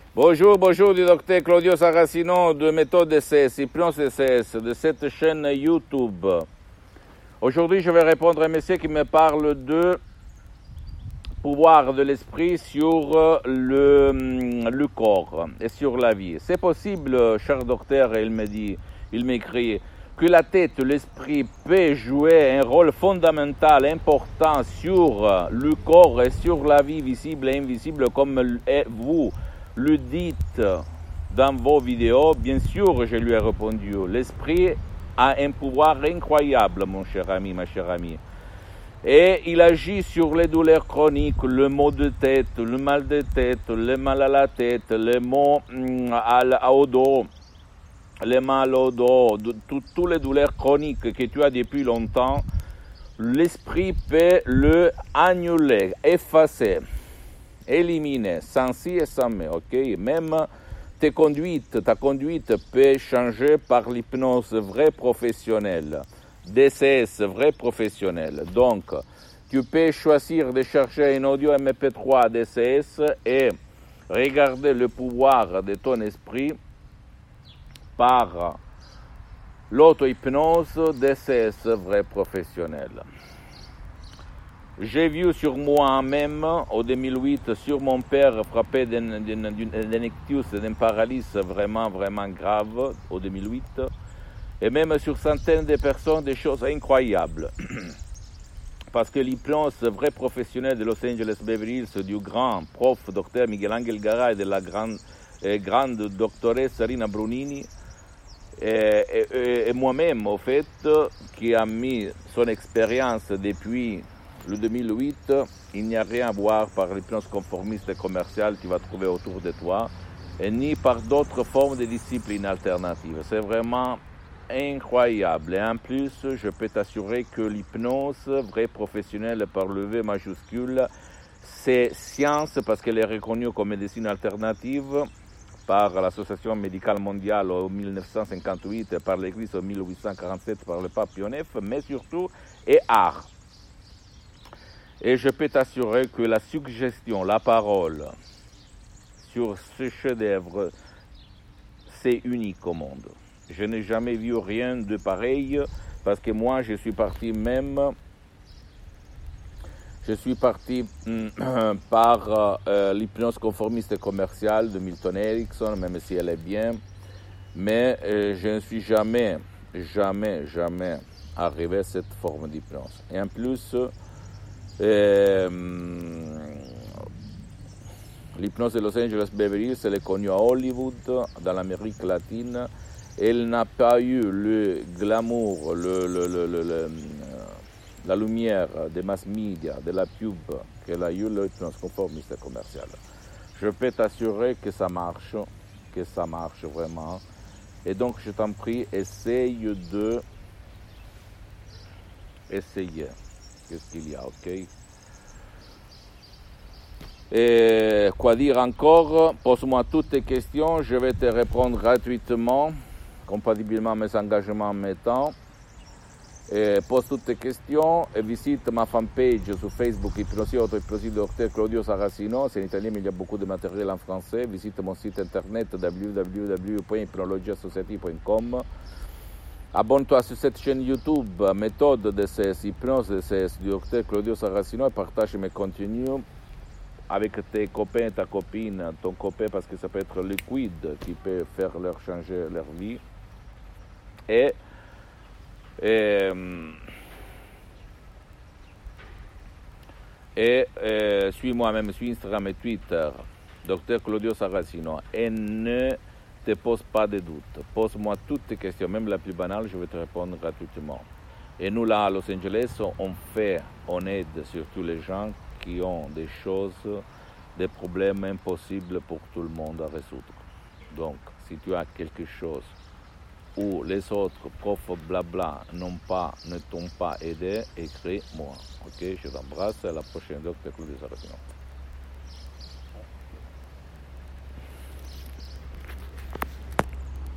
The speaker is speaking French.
Bonjour, bonjour du docteur Claudio Saracino de Méthode DCS, Hypnose DCS, de cette chaîne YouTube. Aujourd'hui, je vais répondre à un monsieur qui me parle de pouvoir de l'esprit sur le corps et sur la vie. C'est possible, cher docteur, il m'écrit, que la tête, l'esprit peut jouer un rôle fondamental, important sur le corps et sur la vie visible et invisible comme vous le dites dans vos vidéos. Bien sûr, je lui ai répondu, l'esprit a un pouvoir incroyable, mon cher ami, ma chère amie. Et il agit sur les douleurs chroniques, le maux de tête, le mal de tête, le mal à la tête, les maux au dos, les mal au dos, toutes les douleurs chroniques que tu as depuis longtemps. L'esprit peut le annuler, effacer, éliminer, sans si et sans mais, ok? Même ta conduite peut changer par l'hypnose vraie professionnelle. DCS, vrai professionnel. Donc, tu peux choisir de chercher un audio MP3 DCS et regarder le pouvoir de ton esprit par l'auto-hypnose DCS, vrai professionnel. J'ai vu sur moi-même, en 2008, sur mon père frappé d'un ictus, d'une paralysie vraiment, vraiment grave, en 2008. Et même sur centaines de personnes, des choses incroyables. Parce que l'hypnose vrai professionnel de Los Angeles Beverly Hills, du grand prof docteur Miguel Angel Garay et de la grande doctoresse Rina Brunini, et moi-même, au fait, qui a mis son expérience depuis le 2008, il n'y a rien à voir par l'hypnose conformiste et commerciale que tu vas trouver autour de toi, et ni par d'autres formes de disciplines alternatives. C'est vraiment incroyable. Et en plus, je peux t'assurer que l'hypnose vraie professionnelle par le V majuscule, c'est science parce qu'elle est reconnue comme médecine alternative par l'Association médicale mondiale en 1958 et par l'Église en 1847 par le pape Pie IX, mais surtout est art. Et je peux t'assurer que la suggestion, la parole sur ce chef-d'œuvre, c'est unique au monde. Je n'ai jamais vu rien de pareil parce que moi, je suis parti par l'hypnose conformiste et commerciale de Milton Erickson, même si elle est bien, mais je ne suis jamais arrivé à cette forme d'hypnose. Et en plus, l'hypnose de Los Angeles Beverly Hills, elle est connue à Hollywood, dans l'Amérique latine. Elle n'a pas eu le glamour, la lumière des mass media, de la pub qu'elle a eu l'hypnose conformiste et commerciale. Je peux t'assurer que ça marche vraiment. Et donc, je t'en prie, essaye. Qu'est-ce qu'il y a, ok? Et quoi dire encore? Pose-moi toutes tes questions, je vais te répondre gratuitement, compatiblement à mes engagements en mes temps. Et pose toutes tes questions et visite ma fanpage sur Facebook, Hypnosie Auto-Hypnosie Dr Claudio Saracino. C'est en italien, mais il y a beaucoup de matériel en français. Visite mon site internet www.hypnologiasociety.com. Abonne-toi sur cette chaîne YouTube, Méthode DCS, Hypnose DCS, du Dr Claudio Saracino, et partage mes contenus avec tes copains, ta copine, ton copain, parce que ça peut être liquide qui peut faire leur changer leur vie. Et suis-moi même sur Instagram et Twitter, Dr Claudio Saracino, et ne te pose pas de doutes. Pose-moi toutes tes questions, même la plus banale, je vais te répondre gratuitement. Et nous, là, à Los Angeles, on aide surtout les gens qui ont des choses, des problèmes impossibles pour tout le monde à résoudre. Donc, si tu as quelque chose où les autres profs blabla ne t'ont pas aidé, écris-moi. Ok, je t'embrasse, à la prochaine, Dr Claudio Saracino.